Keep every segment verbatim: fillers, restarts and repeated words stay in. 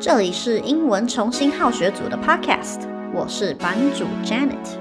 這裡是英文重新好學組的 Podcast， 我是版主 Janet。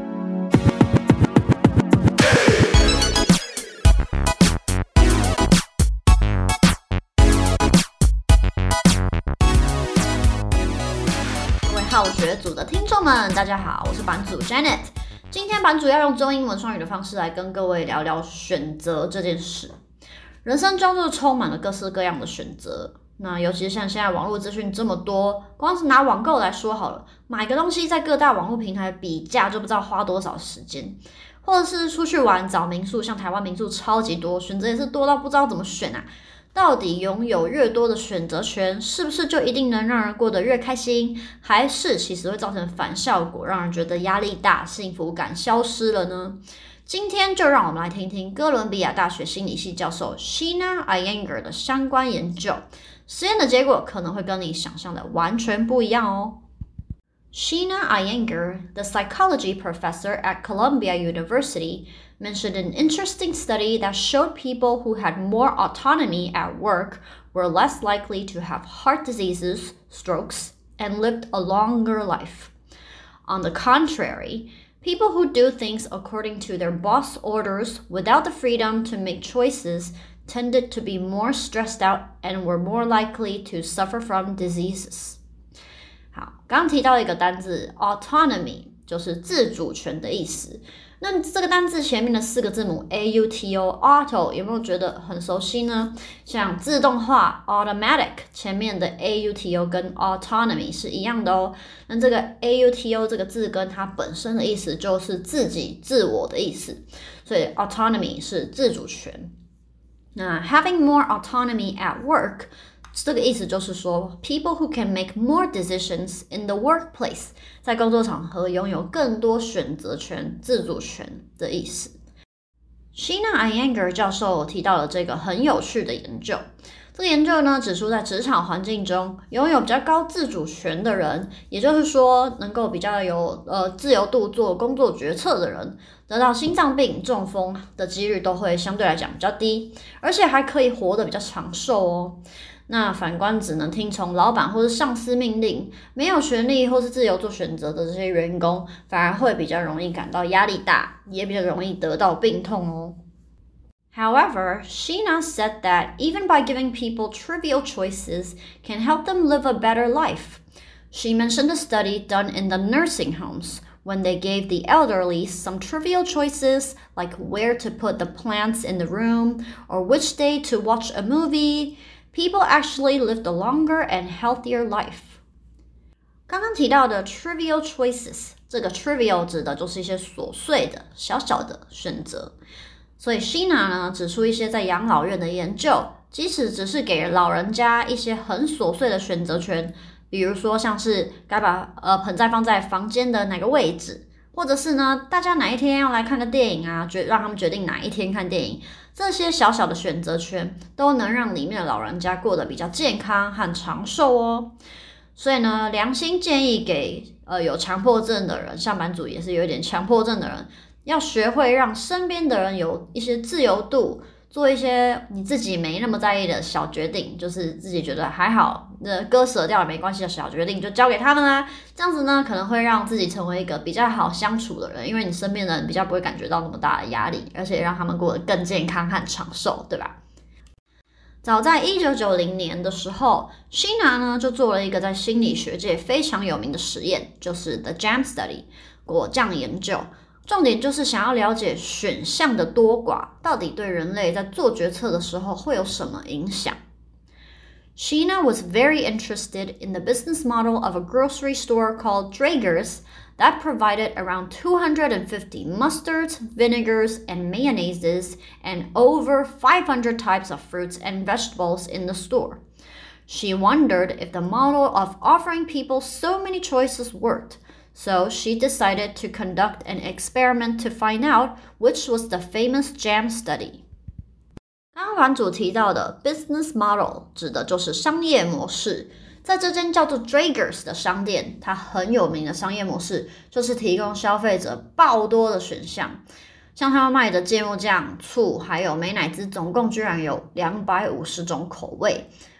各位好學組的聽眾們，大家好，我是版主 Janet。今天版主要用中英文雙語的方式來跟各位聊聊選擇這件事。人生中就是充滿了各式各樣的選擇。那尤其是像現在網絡資訊這麼多，光是拿網購來說好了，買個東西在各大網絡平台比價就不知道花多少時間，或者是出去玩找民宿，像台灣民宿超級多，選擇也是多到不知道怎麼選啊。到底擁有越多的選擇權，是不是就一定能讓人過得越開心，還是其實會造成反效果，讓人覺得壓力大，幸福感消失了呢？今天就讓我們來聽聽哥倫比亞大學心理系教授 Sheena Iyengar 的相關研究。實驗的結果可能會跟你想象的完全不一樣哦。Sheena Iyengar, the psychology professor at Columbia University, mentioned an interesting study that showed people who had more autonomy at work were less likely to have heart diseases, strokes, and lived a longer life. On the contrary, people who do things according to their boss orders without the freedom to make choices tended to be more stressed out and were more likely to suffer from diseases. 好，剛剛提到一個單字 autonomy 就是自主權的意思。那這個單字前面的四個字母 A U T O auto 有沒有覺得很熟悉呢？像自動化 automatic 前面的 A U T O 跟 autonomy 是一樣的哦。那這個 A U T O 這個字根它本身的意思就是自己自我的意思，所以 autonomy 是自主權。那 having more autonomy at work 這個意思就是說 people who can make more decisions in the workplace 在工作場合擁有更多選擇權、自主權的意思。Sheena Iyengar 教授提到了這個很有趣的研究。這個研究呢指出，在職場環境中擁有比較高自主權的人，也就是說能夠比較有呃自由度做工作決策的人，得到心臟病、中風的幾率都會相對來講比較低，而且還可以活得比較長壽哦。那反觀只能聽從老闆或是上司命令，沒有權利或是自由做選擇的這些員工，反而會比較容易感到壓力大，也比較容易得到病痛哦。However, Sheena said that even by giving people trivial choices can help them live a better life. She mentioned a study done in the nursing homes when they gave the elderly some trivial choices like where to put the plants in the room or which day to watch a movie. People actually lived a longer and healthier life. 剛剛提到的 trivial choices， 這個 trivial 指的就是一些瑣碎的、小小的選擇。所以 Sheena 呢指出一些在養老院的研究，即使只是給老人家一些很瑣碎的選擇權，比如說像是該把呃盆栽放在房間的哪個位置，或者是呢大家哪一天要來看個電影啊，決讓他們決定哪一天看電影，這些小小的選擇權都能讓裡面的老人家過得比較健康和長壽哦。所以呢，良心建議給呃有強迫症的人，像版主也是有一點強迫症的人，要學會讓身邊的人有一些自由度，做一些你自己沒那麼在意的小決定，就是自己覺得還好，那割捨掉也沒關係的小決定就交給他們啦。這樣子呢，可能會讓自己成為一個比較好相處的人，因為你身邊的人比較不會感覺到那麼大的壓力，而且讓他們過得更健康和長壽，對吧？早在一九九零年的時候 ，Sheena 呢就做了一個在心理學界非常有名的實驗，就是 The Jam Study 果醬研究。重點就是想要了解選項的多寡到底對人類在做決策的時候會有什麼影響。Sheena was very interested in the business model of a grocery store called Draeger's that provided around two hundred fifty mustards, vinegars, and mayonnaises, and over five hundred types of fruits and vegetables in the store. She wondered if the model of offering people so many choices worked.So she decided to conduct an experiment to find out which was the famous jam study. 剛剛版主提到的 business model 指的就是商業模式。在這間叫做 Draeger's 的商店，它很有名的商業模式就是提供消費者爆多的選項。像他們賣的芥末醬、醋還有美乃滋，總共居然有兩百五十種口味。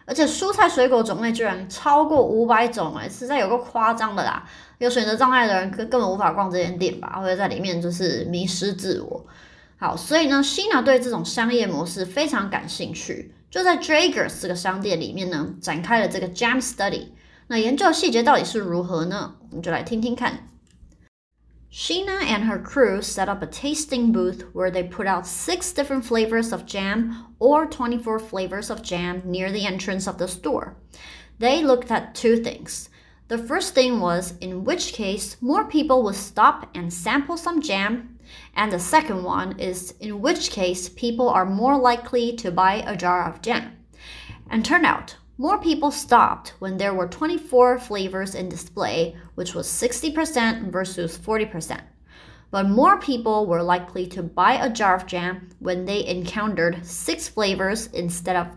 而且蔬菜水果種類居然超過五百種，哎，實在有夠誇張的啦！有選擇障礙的人根根本無法逛這間店吧，或者在裡面就是迷失自我。好，所以呢 Sheena 對這種商業模式非常感興趣，就在 Draggers 這個商店裡面呢，展開了這個 Jam Study。那研究的細節到底是如何呢？我們就來聽聽看。Sheena and her crew set up a tasting booth where they put out six different flavors of jam or twenty-four flavors of jam near the entrance of the store. They looked at two things. The first thing was in which case more people would stop and sample some jam, and the second one is in which case people are more likely to buy a jar of jam. And turned out, more people stopped when there were twenty-four flavors in display, which was sixty percent versus forty percent. But more people were likely to buy a jar of jam when they encountered six flavors instead of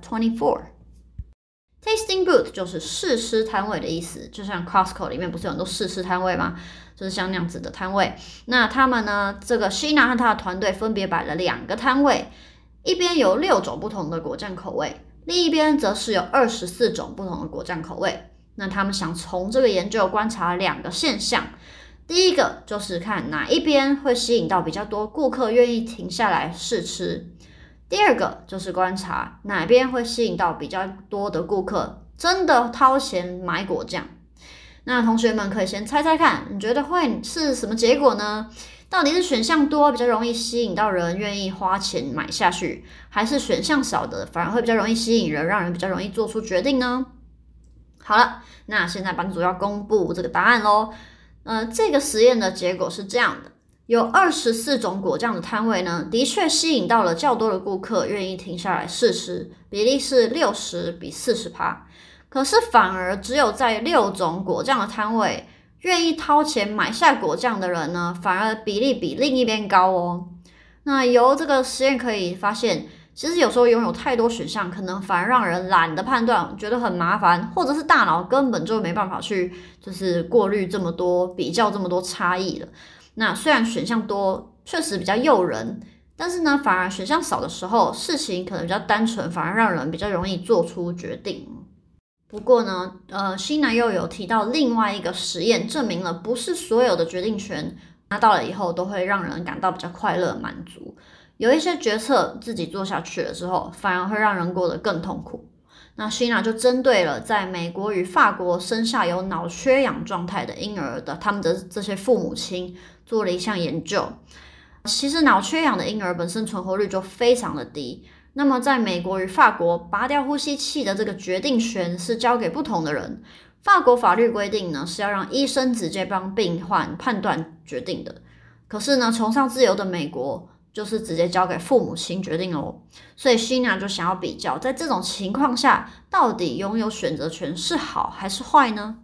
twenty-four.Tasting booth 就是試吃攤位的意思，就像 Costco 裡面不是有很多試吃攤位嗎？就是像那樣子的攤位。那他們呢，這個 Sheena 和他的團隊分別擺了兩個攤位，一邊有六種不同的果醬口味，另一邊則是有二十四種不同的果醬口味。那他們想從這個研究觀察兩個現象，第一個就是看哪一邊會吸引到比較多顧客願意停下來試吃。第二個就是觀察哪邊會吸引到比較多的顧客真的掏錢買果醬。那同學們可以先猜猜看，你覺得會是什麼結果呢？到底是選項多比較容易吸引到人願意花錢買下去，還是選項少的反而會比較容易吸引人，讓人比較容易做出決定呢？好了，那現在班主要公布這個答案咯。呃，這個實驗的結果是這樣的。有二十四種果醬的攤位呢，的確吸引到了較多的顧客願意停下來試吃，比例是六十比 百分之四十。可是反而只有在六種果醬的攤位，願意掏錢買下果醬的人呢，反而比例比另一邊高哦。那由這個實驗可以發現，其實有時候擁有太多選項，可能反而讓人懶得判斷，覺得很麻煩，或者是大腦根本就沒辦法去就是過濾這麼多，比較這麼多差異了。那雖然選項多確實比較誘人，但是呢，反而選項少的時候，事情可能比較單純，反而讓人比較容易做出決定。不過呢，呃，Sheena又有提到另外一個實驗，證明了不是所有的決定權拿到了以後都會讓人感到比較快樂滿足，有一些決策自己做下去了之後，反而會讓人過得更痛苦。那 Sheena 就針對了在美國與法國生下有腦缺氧狀態的嬰兒的他們的這些父母親做了一項研究。其實腦缺氧的嬰兒本身存活率就非常的低，那麼在美國與法國拔掉呼吸器的這個決定權是交給不同的人。法國法律規定呢，是要讓醫生直接幫病患判斷決定的，可是呢崇尚自由的美國就是直接交給父母親決定哦。所以 Sheena 就想要比較，在這種情況下，到底擁有選擇權是好還是壞呢？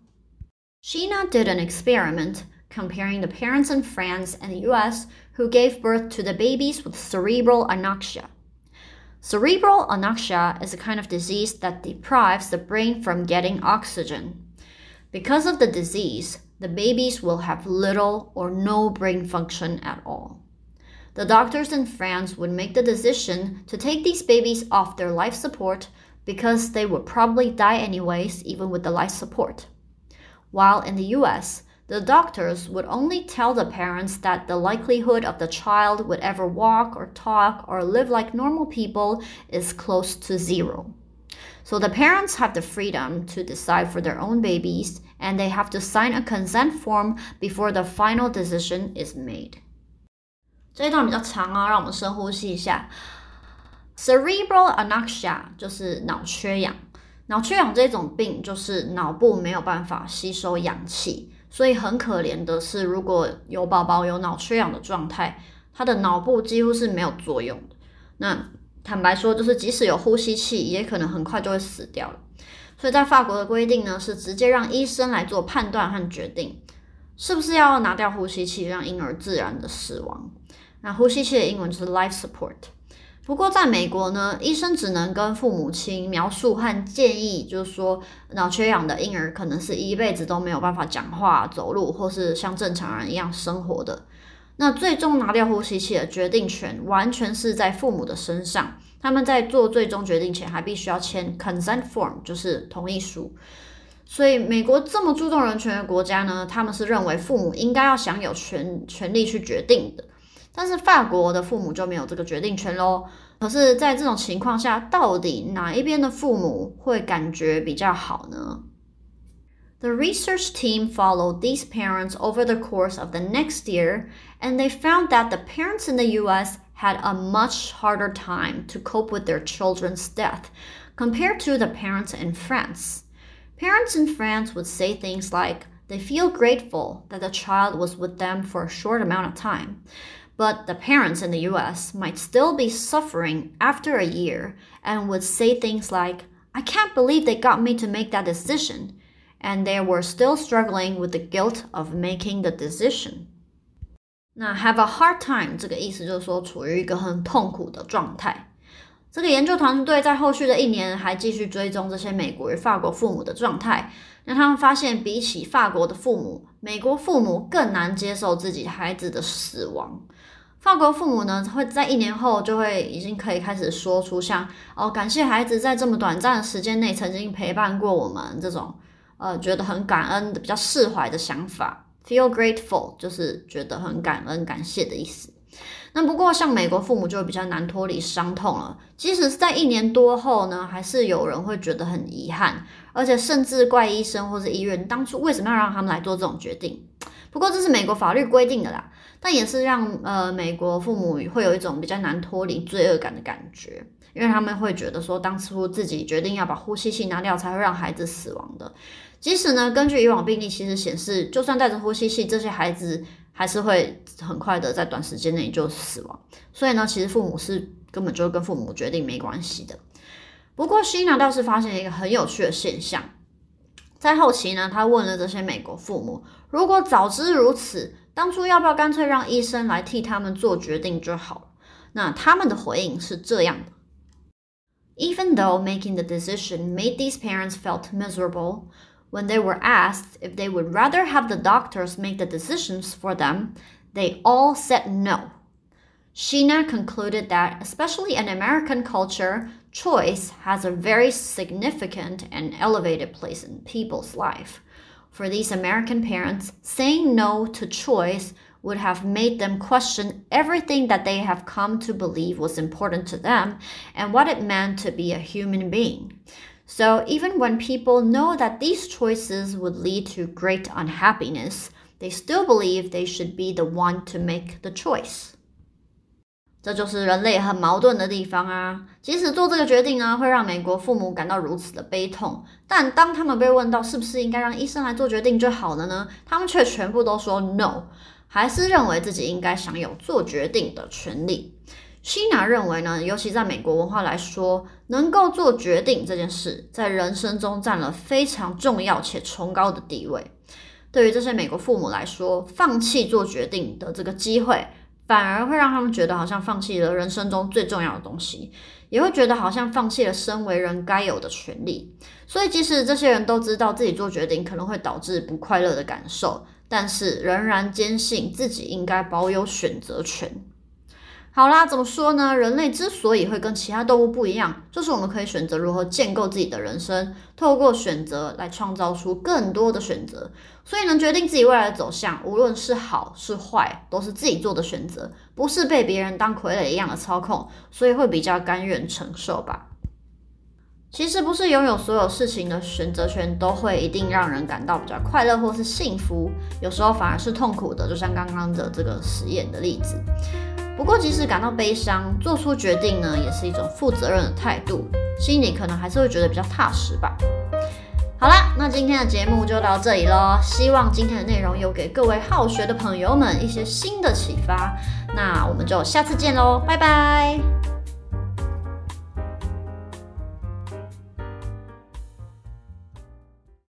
Sheena did an experiment comparing the parents and friends in the U S who gave birth to the babies with cerebral anoxia. Cerebral anoxia is a kind of disease that deprives the brain from getting oxygen. Because of the disease, the babies will have little or no brain function at all.The doctors and friends would make the decision to take these babies off their life support because they would probably die anyways, even with the life support. While in the U S, the doctors would only tell the parents that the likelihood of the child would ever walk or talk or live like normal people is close to zero. So the parents have the freedom to decide for their own babies, and they have to sign a consent form before the final decision is made.這一段比較長啊，讓我們深呼吸一下。Cerebral anoxia 就是腦缺氧。腦缺氧這種病就是腦部沒有辦法吸收氧氣，所以很可憐的是，如果有寶寶有腦缺氧的狀態，他的腦部幾乎是沒有作用的。那坦白說，就是即使有呼吸器，也可能很快就會死掉了。所以在法國的規定呢，是直接讓醫生來做判斷和決定，是不是要拿掉呼吸器，讓嬰兒自然的死亡。那呼吸器的英文就是 life support。不過在美國呢，醫生只能跟父母親描述和建議，就是說腦缺氧的嬰兒可能是一輩子都沒有辦法講話、走路，或是像正常人一樣生活的。 那最終拿掉呼吸器的決定權完全是在父母的身上，他們在做最終決定前還必須要簽 consent form， 就是同意書。所以美國這麼注重人權的國家呢，他們是認為父母應該要享有權權利去決定的。但是法國的父母就沒有這個決定權咯。可是在這種情況下，到底哪一邊的父母會感覺比較好呢？ The research team followed these parents over the course of the next year, and they found that the parents in the U S had a much harder time to cope with their children's death compared to the parents in France. Parents in France would say things like they feel grateful that the child was with them for a short amount of time, but the parents in the U S might still be suffering after a year and would say things like, I can't believe they got me to make that decision, and they were still struggling with the guilt of making the decision. 那 have a hard time 這個意思就是說處於一個很痛苦的狀態。這個研究團隊在後續的一年還繼續追蹤這些美國與法國父母的狀態，那他們發現比起法國的父母，美國父母更難接受自己孩子的死亡。法國父母呢，會在一年後就會已經可以開始說出像哦，感謝孩子在這麼短暫的時間內曾經陪伴過我們這種呃覺得很感恩的比較釋懷的想法。Feel grateful 就是覺得很感恩感謝的意思。那不過像美國父母就比較難脫離傷痛了，即使是在一年多後呢，還是有人會覺得很遺憾，而且甚至怪醫生或是醫院當初為什麼要讓他們來做這種決定。不過這是美國法律規定的啦，但也是讓呃美國父母會有一種比較難脫離罪惡感的感覺，因為他們會覺得說當初自己決定要把呼吸器拿掉才會讓孩子死亡的。即使呢，根據以往病例其實顯示，就算帶着呼吸器，這些孩子還是會很快的在短時間內就死亡。所以呢，其實父母是根本就跟父母決定沒關係的。不過希娜倒是發現一個很有趣的現象，在後期呢，他問了這些美國父母，如果早知如此，當初要不要乾脆讓醫生來替他們做決定就好了？那他們的回應是這樣的。Even though making the decision made these parents felt miserable, when they were asked if they would rather have the doctors make the decisions for them, they all said no. Sheena concluded that, especially in American culture, choice has a very significant and elevated place in people's life. For these American parents, saying no to choice would have made them question everything that they have come to believe was important to them and what it meant to be a human being.So even when people know that these choices would lead to great unhappiness, they still believe they should be the one to make the choice. 這就是人類很矛盾的地方啊！即使做這個決定呢，會讓美國父母感到如此的悲痛，但當他們被問到是不是應該讓醫生來做決定就好了呢，他們卻全部都說 no， 還是認為自己應該享有做決定的權利。希娜認為呢，尤其在美國文化來說，能夠做決定這件事，在人生中佔了非常重要且崇高的地位。對於這些美國父母來說，放棄做決定的這個機會，反而會讓他們覺得好像放棄了人生中最重要的東西，也會覺得好像放棄了身為人該有的權利。所以即使這些人都知道自己做決定可能會導致不快樂的感受，但是仍然堅信自己應該保有選擇權。好啦，怎麼說呢？人類之所以會跟其他動物不一樣，就是我們可以選擇如何建構自己的人生，透過選擇來創造出更多的選擇。所以能決定自己未來的走向，無論是好是壞，都是自己做的選擇，不是被別人當傀儡一樣的操控，所以會比較甘願承受吧。其實不是擁有所有事情的選擇權都會一定讓人感到比較快樂或是幸福，有時候反而是痛苦的，就像剛剛的這個實驗的例子。不過即使感到悲傷，做出決定呢，也是一種負責任的態度，心裡可能還是會覺得比較踏實吧。好啦，那今天的節目就到這裡咯，希望今天的內容有給各位好學的朋友們一些新的啟發。那我們就下次見咯，拜拜。